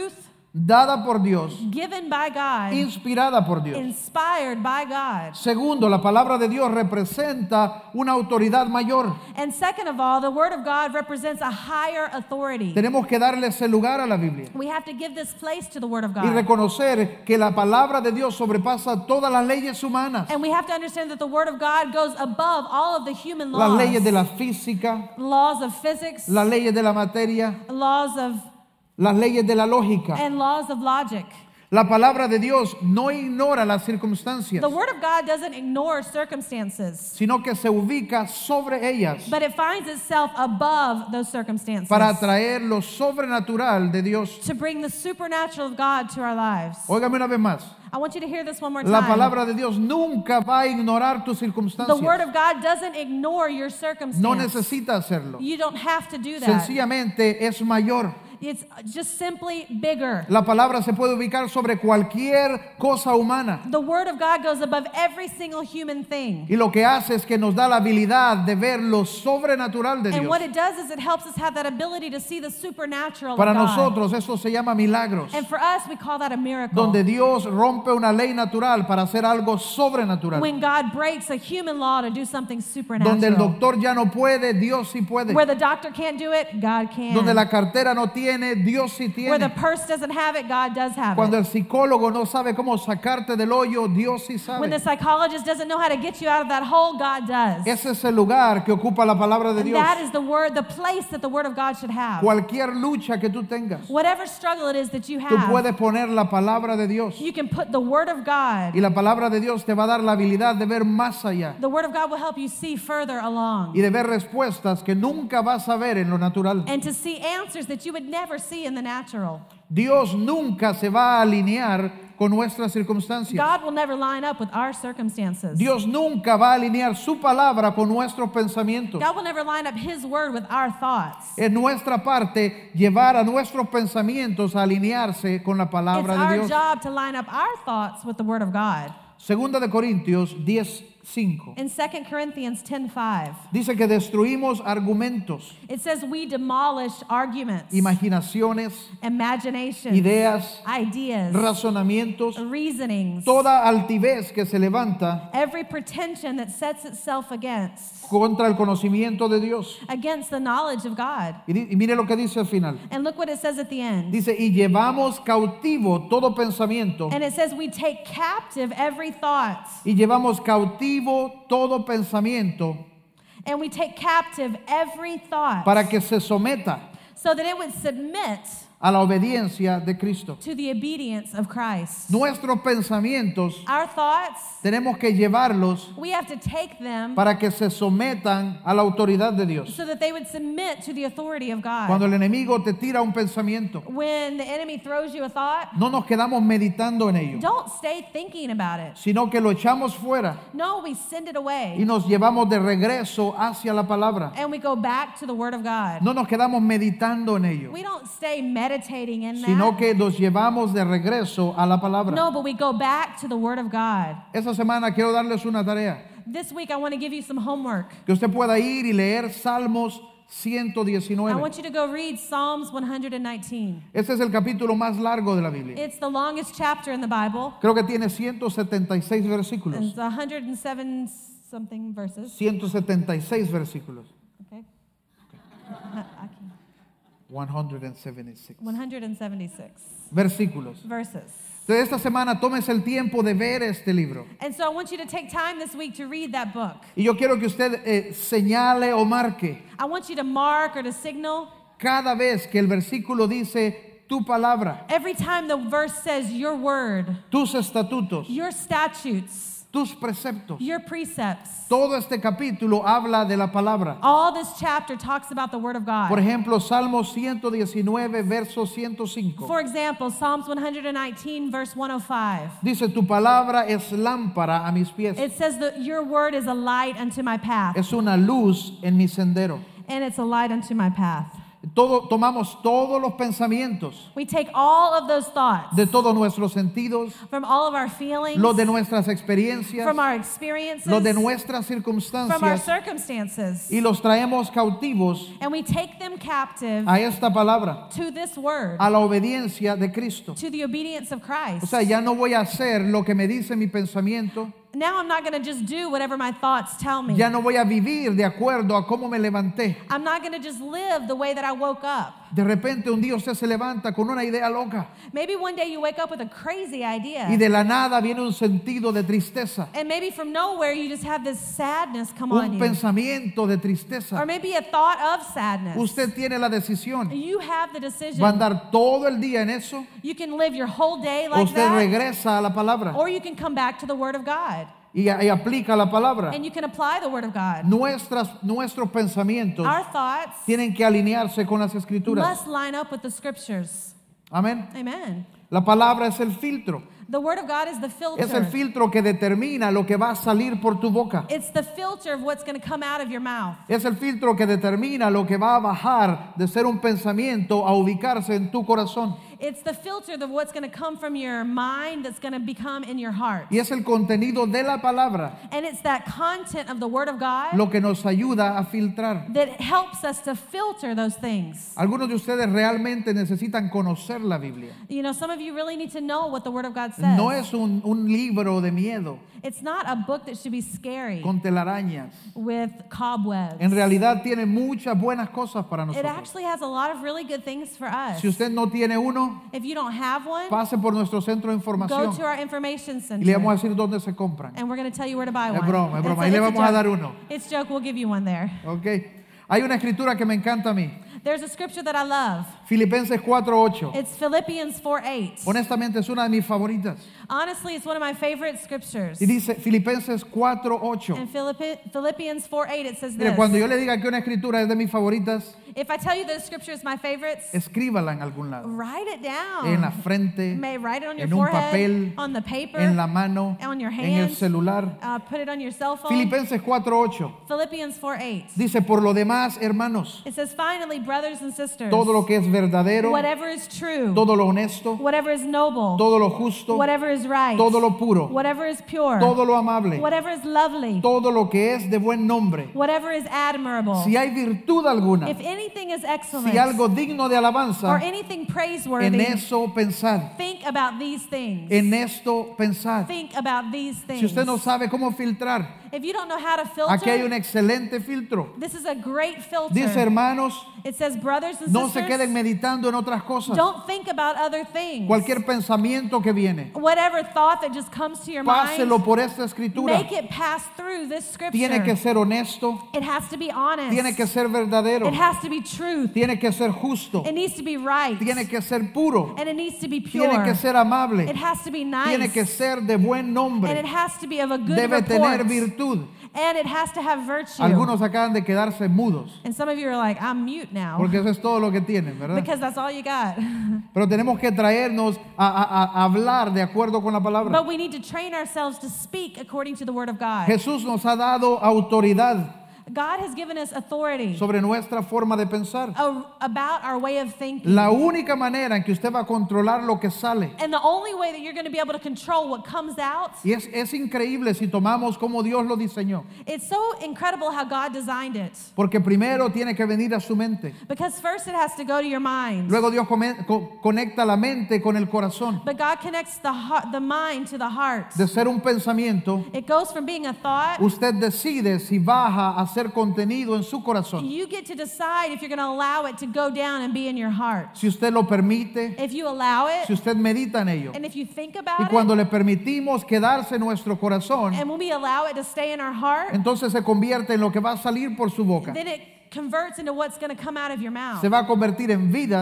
dada por Dios, given by God, inspirada por Dios. inspired by God. Segundo, la palabra de Dios representa una autoridad mayor. And second of all, the Word of God represents a higher authority. Tenemos que darle ese lugar a la Biblia We have to give this place to the Word of y God. reconocer que la palabra de Dios sobrepasa todas las leyes humanas, And we have to understand that the Word of God goes above all of the human las laws. leyes de la física, Laws of physics, las leyes de la materia, laws of las leyes de la lógica. and laws of logic. La palabra de Dios no ignora las circunstancias, The Word of God doesn't ignore circumstances, sino que se ubica sobre ellas but it finds itself above those circumstances para atraer lo sobrenatural de Dios. to bring the supernatural of God to our lives. Óigame una vez más. I want you to hear this one more La time. palabra de Dios nunca va a ignorar tus The Word circunstancias. of God doesn't ignore your circumstance. No necesita hacerlo. You don't have to do that. Sencillamente es mayor. It's just simply bigger. La palabra se puede ubicar sobre cualquier cosa humana. The Word of God goes above every single human thing. Y lo que hace es que nos da la habilidad de ver lo sobrenatural de And Dios. what it does is it helps us have that ability to see the supernatural Para of God. nosotros eso se llama milagros, And for us, we call that a miracle. donde Dios rompe una ley natural para hacer algo sobrenatural. When God breaks a human law to do something Donde el supernatural. doctor ya no puede, Dios sí puede. Where the doctor can't do it, God can. Donde la cartera no tiene, Dios sí Where the tiene. purse doesn't have it, God does have Cuando it. el psicólogo no sabe cómo sacarte del hoyo, Dios sí When the sabe. psychologist doesn't know how to get you out of that hole, God does. Ese es el lugar que ocupa la palabra de And Dios. that is the word, the place that the Word of God should have. Cualquier lucha que tú tengas, Whatever struggle it is that you tú have, puedes poner la palabra de Dios. you can put the Word of God. Y la palabra de Dios te va a dar la habilidad de ver más allá The Word of God will help you see further along y de ver respuestas que nunca vas a ver en lo natural. and to see answers that you would never see in the natural. Dios nunca se va a alinear con nuestras circunstancias. God will never line up with our circumstances. Dios nunca va a alinear su palabra con nuestros pensamientos. God will never line up His Word with our thoughts. Es nuestra parte llevar a nuestros pensamientos a alinearse con la It's palabra de our Dios. job to line up our thoughts with the Word of God. Segunda de Corintios 10:5 In 2 Corinthians 10:5, dice que destruimos argumentos, it says we demolish arguments, imaginaciones, imaginations, ideas, ideas, razonamientos, reasonings, toda altivez que se levanta every pretension that sets itself contra el conocimiento de Dios. against the knowledge of God. Y mire lo que dice al final. And look what it says at the end. Dice, y llevamos cautivo todo pensamiento. And it says we take captive every thought. Y llevamos cautivo todo pensamiento And we take captive every thought para que se someta so that it would submit a la obediencia de Cristo. to the obedience of Christ. Nuestros pensamientos Our thoughts, tenemos que llevarlos we have to take them para que se sometan a la autoridad de Dios. so that they would submit to the authority of God. Cuando el enemigo te tira un pensamiento, When the enemy throws you a thought, no nos quedamos meditando en ello, don't stay thinking about it. sino que lo echamos fuera No, we send it y away nos llevamos de regreso hacia la palabra. and we go back to the Word of God. No nos quedamos meditando en ello, We don't stay meditating in sino that. que nos llevamos de regreso a la palabra. No, but we go back to the Word of God. Esta semana quiero darles una tarea, This week I want to give you some homework. que usted pueda ir y leer Salmos I 119. want you to go read Psalms 119. Este es el capítulo más largo de la Biblia. It's the longest chapter in the Bible. Creo que tiene 176 And versículos. it's 107 something verses. 176 versículos. Okay. 176 176 versículos. verses. Entonces esta semana tómese el tiempo de ver este libro. And so I want you to take time this week to read that book. Y yo quiero que usted señale o marque I want you to mark or to signal cada vez que el versículo dice tu palabra, every time the verse says your word, tus estatutos, your statutes, tus preceptos. your precepts. Todo este capítulo habla de la palabra. All this chapter talks about the Word of God. Por ejemplo, Salmo 119, verso 105. For example, Psalms 119, verse 105. Dice, tu palabra es lámpara a mis pies. It says that your word is a light unto my path, Es una luz en mi sendero. and it's a light unto my path. Tomamos todos los pensamientos We take all of those thoughts de todos nuestros sentidos, from all of our feelings, los de nuestras experiencias, from our experiences, los de nuestras from our circunstancias, circumstances, y los traemos cautivos and we take them captive a esta palabra, to this word, a la obediencia de Cristo. to the obedience of Christ. O sea, ya no voy a hacer lo que me dice mi pensamiento, Now I'm not going to just do whatever my thoughts tell me. ya no voy a vivir de acuerdo a cómo me levanté. I'm not going to just live the way that I woke up. De repente un día usted se levanta con una idea loca Maybe one day you wake up with a crazy idea. y de la nada viene un sentido de tristeza, And maybe from nowhere you just have this sadness come on un you. pensamiento de Or tristeza. maybe a thought of sadness. Usted tiene la decisión. You have the ¿Va a decision. andar todo el día en eso? You can live your whole day ¿O like usted that. regresa a la palabra Or you can come back to the Word of God. y aplica la palabra? And you can apply the Word of God. Nuestros pensamientos Our thoughts tienen que alinearse con las escrituras. must line up with the Scriptures. Amén. Amen. La palabra es el filtro. The Word of God is the Es el filter. filtro que determina lo que va a salir por tu boca. It's the filter of what's going to come out of your mouth. Es el filtro que determina lo que va a bajar de ser un pensamiento a ubicarse en tu corazón. It's the filter of what's going to come from your mind that's going to become in your heart. Y es el contenido de la palabra And it's that content of the Word of God lo que nos ayuda a filtrar. that helps us to filter those things. Algunos de ustedes realmente necesitan conocer la Biblia. You know, some of you really need to know what the Word of God says. No es un libro de miedo It's not a book that should be scary con telarañas. with cobwebs. En realidad tiene muchas buenas cosas para It nosotros. actually has a lot of really good things for us. Si usted no tiene uno, If you don't have one, pase por nuestro centro de go información to our information y le vamos a center. decir dónde se compran. And we're going to tell you where to buy Es one. broma, es broma. It's Ahí le it's vamos a joke. dar uno. It's joke. We'll give you one there. ¿Ok? Hay una escritura que me encanta a mí. There's a scripture that I love. Filipenses 4:8. It's Philippians 4:8. Honestamente es una de mis favoritas. Honestly, it's one of my favorite scriptures. Y dice Filipenses 4:8. In Philippians 4:8, it says Mire, this. cuando yo le diga que una escritura es de mis favoritas, If I tell you that scripture is my favorites, escríbala en algún lado. write it down. En la frente, You may write it on your en un forehead, papel, on the paper, en la mano, on your en el hands, celular. put it on your cell phone. Filipenses 4:8 Philippians 4:8. dice, por lo demás, hermanos, It says, finally, brothers and sisters, todo lo que es verdadero, whatever is true, todo lo honesto, whatever is noble, todo lo justo, whatever is right, todo lo puro, whatever is pure, todo lo amable, whatever is lovely, todo lo que es de buen nombre. whatever is admirable, Si hay virtud alguna, if anything is excellent, si algo digno de or alabanza, anything en praiseworthy, eso pensad. think about these things. En esto pensad. Think about these things. Si usted no sabe cómo filtrar, If you don't know how to aquí hay un filter, excelente filtro. this is a great filter. Dice, hermanos, It says, brothers and no se sisters, queden meditando en otras cosas. don't think about other things. Cualquier pensamiento que viene, Whatever thought that just comes to your páselo mind, por esta escritura. make it pass through this scripture. Tiene que ser honesto, It has to be honest. tiene que ser verdadero, It has to be truth. tiene que ser justo, It needs to be right. tiene que ser puro, And it needs to be pure. tiene que ser amable, It has to be nice. tiene que ser de buen And it nombre, has to be of a good debe tener report. virtud. And it has to have virtue. Algunos acaban de quedarse mudos, And some of you are like, I'm mute now. porque eso es todo lo que tienen, ¿verdad? Because that's all you got. Pero tenemos que traernos a hablar de acuerdo con la palabra. But we need to train ourselves to speak according to the word of God. Jesús nos ha dado autoridad God has given us authority sobre nuestra forma de pensar. about our way of thinking. La única manera en que usted va a controlar lo que sale, And the only way that you're going to be able to control what comes out, y es increíble si tomamos como Dios lo diseñó, it's so incredible how God designed it. porque primero tiene que venir a su mente, Because first it has to go to your mind. luego Dios conecta la mente con el corazón. But God connects the heart, the mind to the heart. De ser un pensamiento, It goes from being a thought. usted decide si baja a ser contenido en su corazón. You get to decide if you're going to allow it to go down and be in your heart. Si usted lo permite, If you allow si it, usted medita en ello. and if you think Y about cuando it, le permitimos quedarse en nuestro corazón, and when we allow it to stay in our heart, entonces se convierte en lo que va a salir por su boca. then it converts into what's going to come out of your mouth. Se va a convertir en vida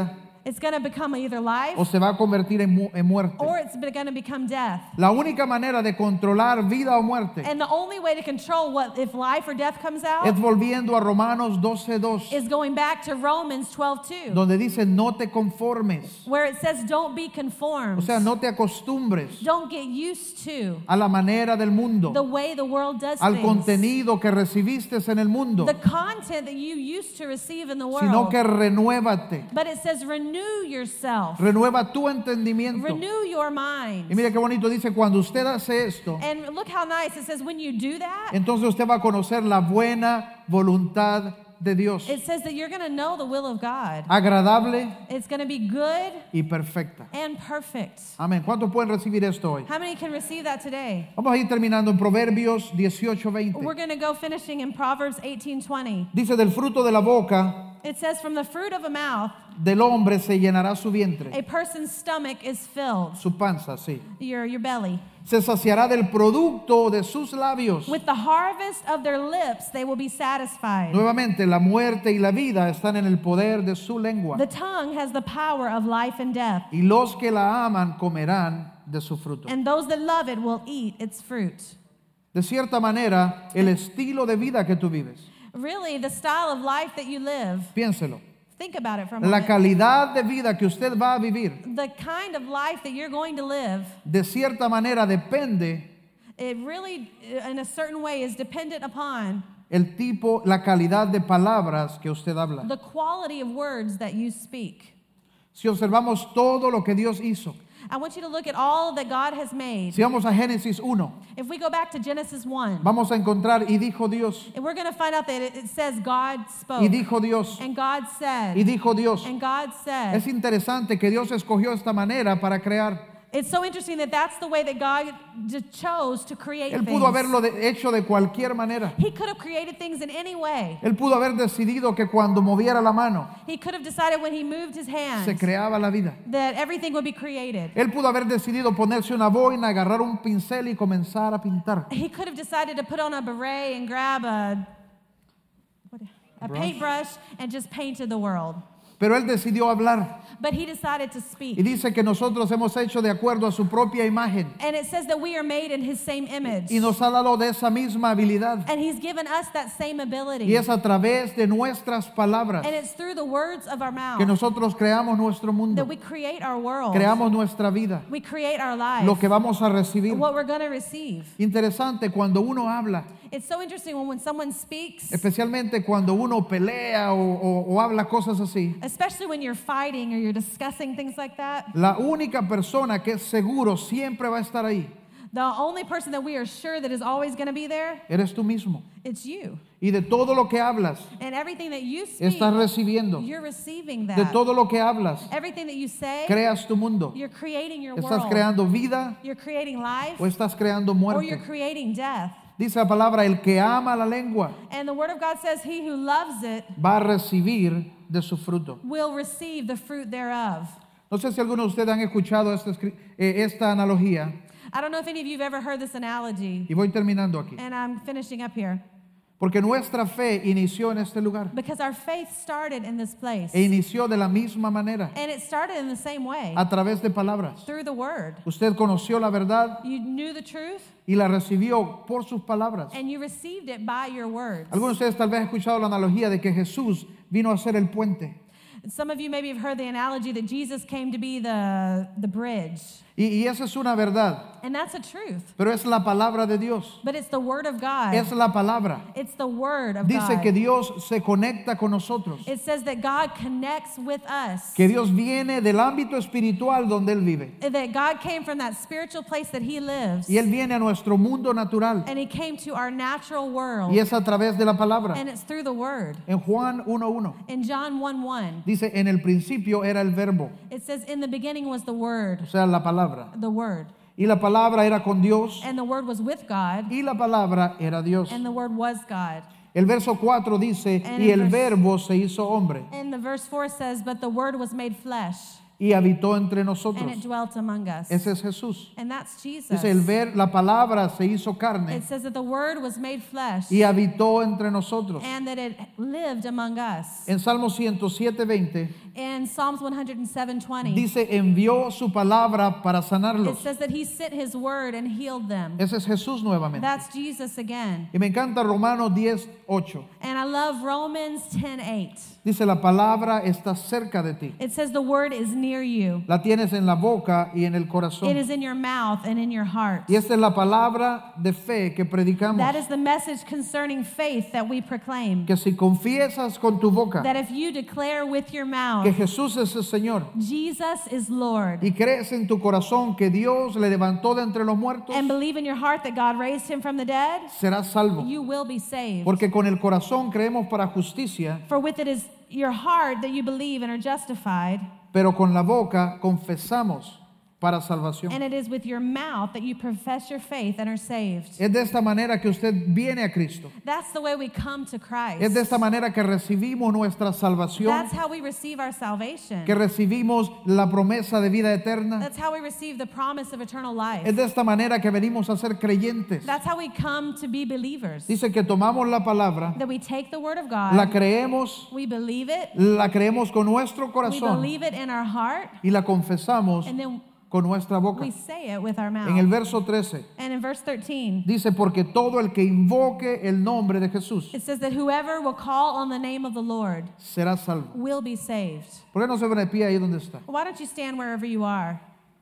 It's going to become either life o se va a convertir en muerte. or it's going to become death. La única manera de controlar vida o muerte And the only way to control what if life or death comes out es volviendo a Romanos 12:2, is going back to Romans 12:2, donde dice no te conformes, where it says don't be conformed. o sea, no te acostumbres Don't get used to a la manera del mundo, the way the world does al things. contenido que recibiste en el mundo, The content that you used to receive in the sino world. que renuévate, But it says renew yourself. renueva tu entendimiento. Renew your mind. Y mire qué bonito dice, cuando usted hace esto, And look how nice it says when you do that, entonces usted va a conocer la buena voluntad de Dios, it says that you're going to know the will of God. agradable It's going to be good y perfecta. and perfect. Amén. ¿Cuántos pueden recibir esto hoy? How many can receive that today? Vamos a ir terminando en Proverbios 18:20. We're going to go finishing in Proverbs 18:20. Dice, del fruto de la boca It says from the fruit of a mouth del hombre se llenará su vientre, a person's stomach is filled, su panza, sí. your belly. Se saciará del producto de sus labios. With the harvest of their lips they will be satisfied. Nuevamente, la muerte y la vida están en el poder de su lengua. The tongue has the power of life and death, Y los que la aman comerán de su fruto. and those that love it will eat its fruit. De cierta manera, el estilo de vida que tú vives, Really, the style of life that you live, piénselo, think about it for a la moment. calidad de vida que usted va a vivir, The kind of life that you're going to live, de cierta manera depende it really, in a certain way, is dependent upon el tipo, la calidad de palabras que usted habla. the quality of words that you speak. Si observamos todo lo que Dios hizo, I want you to look at all that God has made. si vamos a Génesis 1, If we go back to Genesis 1, vamos a encontrar y dijo Dios, and we're going to find out that it says God spoke, y dijo Dios, and God y said, dijo Dios. and God said. Es interesante que Dios escogió esta manera para crear. It's so interesting that that's the way that God chose to create Él things. pudo haberlo hecho de cualquier manera. He could have created things in any way. Él pudo haber decidido que cuando moviera la mano He could have decided when he moved his hands se creaba la vida. that everything would be created. Él pudo haber decidido ponerse una boina, agarrar un pincel y comenzar a pintar. He could have decided to put on a beret and grab a Brush. paintbrush and just painted the world. Pero él decidió hablar But he decided to y speak. dice que nosotros hemos hecho de acuerdo a su propia imagen And it says that we are made in his same image. y nos ha dado de esa misma habilidad And he's given us that same ability. y es a través de nuestras palabras And it's through the words of our mouth que nosotros creamos nuestro that mundo, we create our world. creamos nuestra vida, We create our life. lo que vamos a recibir. What we're going to receive. Interesante cuando uno habla, It's so interesting when someone speaks, especialmente cuando uno pelea o habla cosas así. especially when you're fighting or you're discussing things like that. La única persona que es seguro siempre va a estar ahí, The only person that we are sure that is always going to be there, eres tú mismo. it's you. Y de todo lo que hablas, And everything that you speak, estás recibiendo. you're receiving that. De todo lo que hablas, Everything that you say, creas tu mundo. you're creating your ¿Estás world. creando vida You're creating life o estás creando or you're muerte? creating death. Dice la palabra, el que ama la lengua And the Word of God says, he who loves it va a recibir de su fruto. will receive the fruit thereof. No sé si algunos de ustedes han escuchado esta analogía, I don't know if any of you have ever heard this analogy, y voy terminando aquí. and I'm finishing up here. Porque nuestra fe inició en este lugar Because our faith started in this place. e inició de la misma manera, And it started in the same way, a través de palabras. through the Word. Usted conoció la verdad You knew the truth, y la recibió por sus palabras. and you received it by your words. Algunos de ustedes tal vez han escuchado la analogía de que Jesús vino a ser el puente. Some of you maybe have heard the analogy that Jesus came to be the bridge. Y esa es una verdad, And that's a truth. pero es la palabra de Dios. But it's the Word of God. Es la palabra. It's the Word of Dice God. que Dios se conecta con nosotros, It says that God connects with us. que Dios viene del ámbito espiritual donde Él vive That God came from that spiritual place that He lives. y Él viene a nuestro mundo natural And He came to our natural world. y es a través de la palabra. And it's through the Word. En Juan 1:1 In John 1:1, dice, en el principio era el verbo, it says, in the beginning was the Word, o sea, la palabra. the Word. Y la palabra era con Dios And the Word was with God, y la palabra era Dios. and the Word was God. El verso 4 dice, And y in el verse- verbo se hizo hombre And the verse 4 says, but the Word was made flesh, y habitó entre and nosotros. it dwelt among us. Ese es Jesús. And that's Jesus. Dice, la palabra se hizo carne It says that the Word was made flesh, y habitó entre nosotros. and that it lived among us. En Salmo 107:20 In in Psalms 107:20. Dice, envió su palabra para It sanarlos. says that he sent his word and healed them. Ese es Jesús nuevamente. That's Jesus again. Y me encanta Romanos 10:8. And I love Romans 10:8. Dice, la palabra está cerca de ti. It says the word is near you. La tienes en la boca y en el It corazón. is in your mouth and in your heart. Y esta es la palabra de fe que predicamos. That is the message concerning faith that we proclaim. Que si confiesas con tu boca That if you declare with your mouth, que Jesús es el Señor Jesus is Lord, y crees en tu corazón que Dios le levantó de entre los muertos, and believe in your heart that God raised him from the dead, serás salvo. you will be saved. Porque con el corazón creemos para justicia, For with it is your heart that you believe and are justified, pero con la boca confesamos para salvación. and it is with your mouth that you profess your faith and are saved. Es de esta manera que usted viene a Cristo. That's the way we come to Christ. Es de esta manera que recibimos nuestra salvación, That's how we receive our salvation. que recibimos la promesa de vida eterna. That's how we receive the promise of eternal life. Es de esta manera que venimos a ser creyentes. That's how we come to be believers. Dice que tomamos la palabra, That we take the word of la God, creemos, we believe it, la creemos con nuestro we corazón believe it in our heart, y la confesamos and then con nuestra boca. we say it with our En el mouth. verso 13 And in verse 13, dice, porque todo el que invoque el nombre de Jesús it says that whoever will call on the name of the Lord será salvo. will be saved. ¿Por qué no se pone de pie ahí donde está? Why don't you stand wherever you are?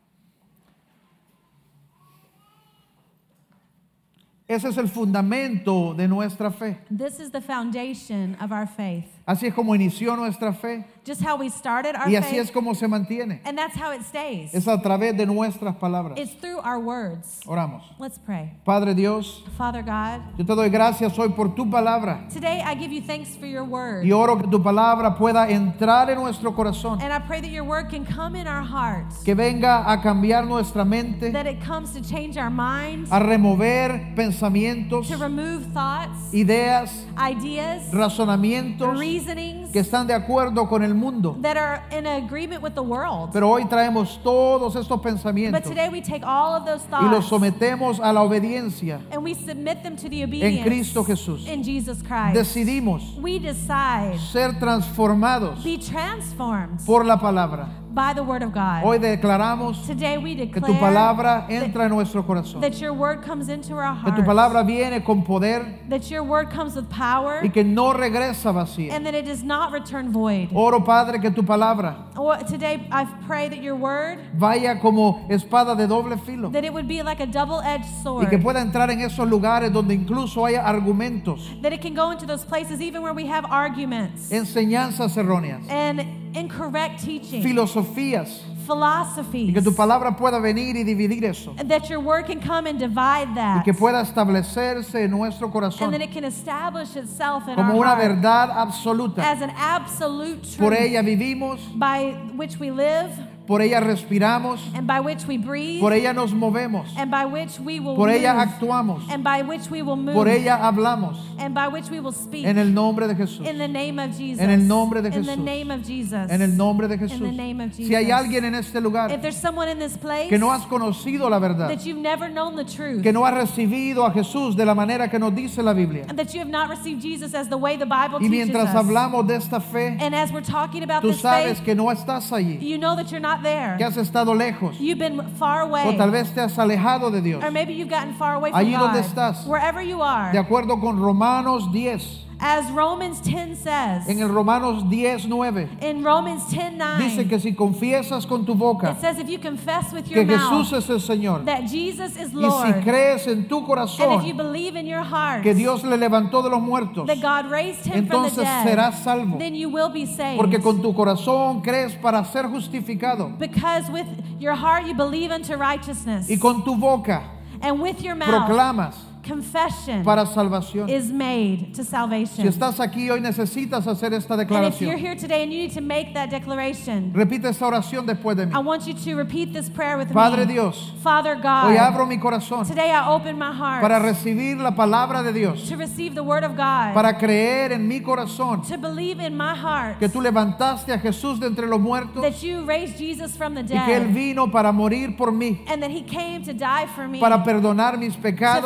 Ese es el fundamento de nuestra fe. This is the foundation of our faith. Así es como inició nuestra fe Just how we started our y así es faith, como se mantiene. and that's how it stays. Es a través de nuestras palabras. It's through our words. Oramos. Let's pray. Padre Dios, Father God, yo te doy gracias hoy por tu palabra today I give you thanks for your word. y oro que tu palabra pueda entrar en nuestro corazón, And I pray that your word can come in our hearts, que venga a cambiar nuestra mente, that it comes to change our minds, a remover pensamientos, to remove thoughts, ideas, ideas, razonamientos reasonings que están de acuerdo con el mundo. that are in agreement with the world. Pero hoy traemos todos estos But pensamientos today we take all of those y los thoughts sometemos a la obediencia and we submit them to the en obedience Cristo Jesús. in Jesus Christ. Decidimos We decide, ser transformados be transformed por la palabra. by the word of God. Hoy declaramos Today we que tu declare palabra entra en nuestro corazón, that your word comes into our que tu hearts, palabra viene con poder that your word comes with power, y que no regresa vacía. and that it does not return void. Oro, Padre, que tu palabra Today I pray that your word, vaya como espada de doble filo that it would be like a double-edged y que sword, pueda entrar en esos lugares donde incluso haya argumentos, that it can go into those places even where we have arguments enseñanzas erróneas, and incorrect teaching, filosofías, y philosophies, que tu palabra pueda venir y dividir eso and that your word can come and divide y that, que pueda establecerse en nuestro and corazón that it can establish itself in como our una heart verdad absoluta. as an absolute Por truth ella vivimos, by which we live, por ella respiramos, and by which we breathe, por ella nos movemos, and by which we will por ella move, actuamos, and by which we will move, por ella hablamos, and by which we will speak. en el nombre de Jesús. In the name of Jesus. En el nombre de In the Jesús. name of Jesus. En el nombre de In the Jesús. name of Jesus. Si hay alguien en este lugar If there's someone in this place que no has conocido la verdad, that you've never known the truth, que no ha recibido a Jesús de la manera que nos dice la Biblia, and that you have not received Jesus as the way the Bible y teaches mientras us, hablamos de esta fe, and as we're talking about tú this sabes faith, que no estás allí, you know that you're not there. que has estado lejos, You've been far away. o tal vez te has alejado de Dios. Or maybe you've gotten far away from Allí God. donde estás. Wherever you are. De acuerdo con Romanos 10, As Romans 10 says, en el Romanos 10:9, in Romans 10:9, dice que si confiesas con tu boca it says if you confess with your que mouth Jesús es el Señor, that Jesus is y Lord, si crees en tu and if you corazón believe in your heart que Dios le levantó de los muertos, that God raised him from the entonces dead, serás salvo. then you will be saved. Porque con tu corazón crees para ser justificado Because with your heart you believe unto righteousness, y con tu boca and with your mouth proclamas confession para salvación. is made to Si salvation. estás aquí hoy necesitas hacer esta And if you're declaración. here today and you need to make that declaration, Repite esta oración después de mí. I want you to repeat this prayer with Padre me. Dios, Father hoy God, abro mi corazón today I open my heart para recibir la palabra de Dios, to receive the word of God, para creer en mi corazón to believe in my heart que tú levantaste a Jesús de entre los muertos that you raised Jesus from the y que Él dead, vino para morir por mí, and that he came to die for me, para perdonar mis to pecados forgive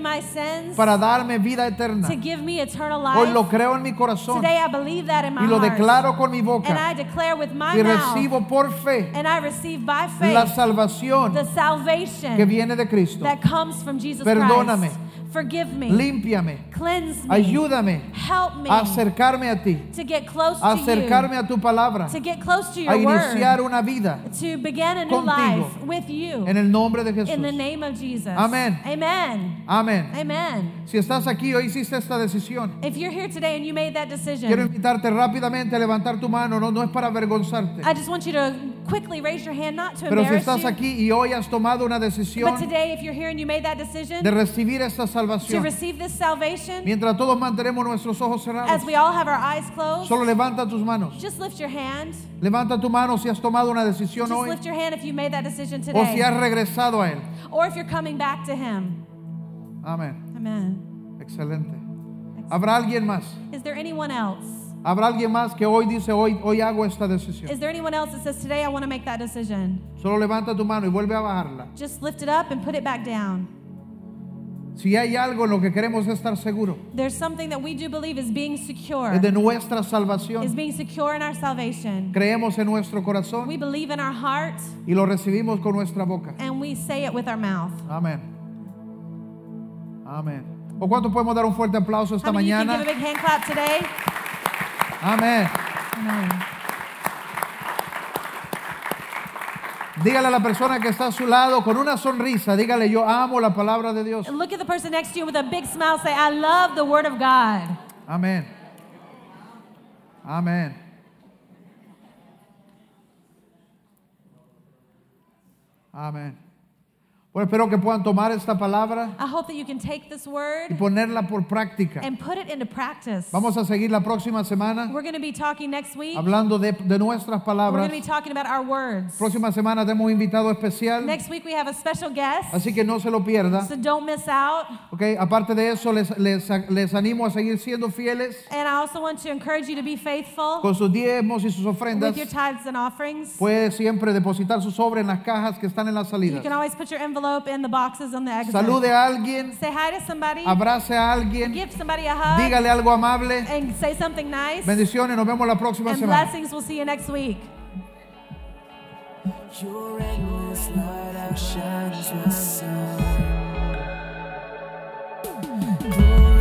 my sins, para darme vida eterna. to give me eternal Hoy lo life. creo en mi corazón Today I believe that in my y lo heart. declaro con mi And boca I declare with my y mouth, recibo por fe and I receive by la faith salvación the salvation que viene de Cristo. that comes from Jesus Perdóname. Christ. Forgive me. Límpiame, Cleanse me. ayúdame Help me a acercarme a ti, to get close a to acercarme you. a tu palabra, To get close to a your iniciar word. una vida To begin a new contigo. life with you. en el nombre de In the Jesús. name of Jesus. Amén. Amen. Amén. Amen. Si estás aquí hoy hiciste esta decisión, If you're here today and you made that quiero decision, invitarte rápidamente a levantar tu mano. No es para avergonzarte, I just want you to quickly raise your hand, not to pero si embarrass estás you. aquí y hoy has tomado una decisión But today, if you're here and you made that decision de recibir esta to salvación, receive this salvation, mientras todos mantenemos nuestros ojos cerrados, as we all have our eyes closed, solo levanta tus manos. just lift your hand. Levanta tu mano si has tomado una decisión Just hoy lift your hand if you made that decision o si has today. regresado a Él. Or if you're coming back to Him. Amén. Amen. Excelente. ¿Habrá alguien más? Is there anyone else? ¿Habrá alguien más que hoy dice, hoy hago esta decisión? Is there anyone else that says, today I want to make that decision? Solo levanta tu mano y vuelve a bajarla. Just lift it up and put it back down. Si hay algo en lo que queremos estar seguros, There's something that we do believe is being secure, es de nuestra is salvación. being secure in our salvation. Creemos en nuestro corazón We believe in our heart y lo recibimos con nuestra boca. and we say it with our mouth. Amén. Amén. ¿O cuánto podemos dar un fuerte aplauso esta How many of you can give a mañana? big hand clap today? Amén. Amen. Dígale a la persona que está a su lado con una sonrisa, dígale, yo amo la palabra de Dios. And look at the person next to you with a big smile. Say, I love the Word of God. Amén. Amén. Amén. Bueno, espero que puedan tomar esta palabra I hope that you can take this y word ponerla por práctica. and put it into practice. Vamos a seguir la próxima semana We're going to be talking next week. hablando de nuestras We're going palabras. to be talking about our words. Próxima semana tenemos un invitado especial, Next week we have a special guest, así que no se lo pierda. so don't miss out. Okay, aparte de eso, les animo a seguir siendo fieles And I also want to encourage you to be faithful con sus diezmos y sus ofrendas. with your tithes and offerings. Puede siempre depositar su sobre en las cajas que están en las You salidas. can always put your envelope in the boxes on the exit. Salude a alguien, Say hi to somebody. abrace a alguien, Give somebody a hug. dígale algo amable. And say something nice. Bendiciones, nos vemos la próxima And semana. blessings. We'll see you next week. Your endless light outshines my sun. Glory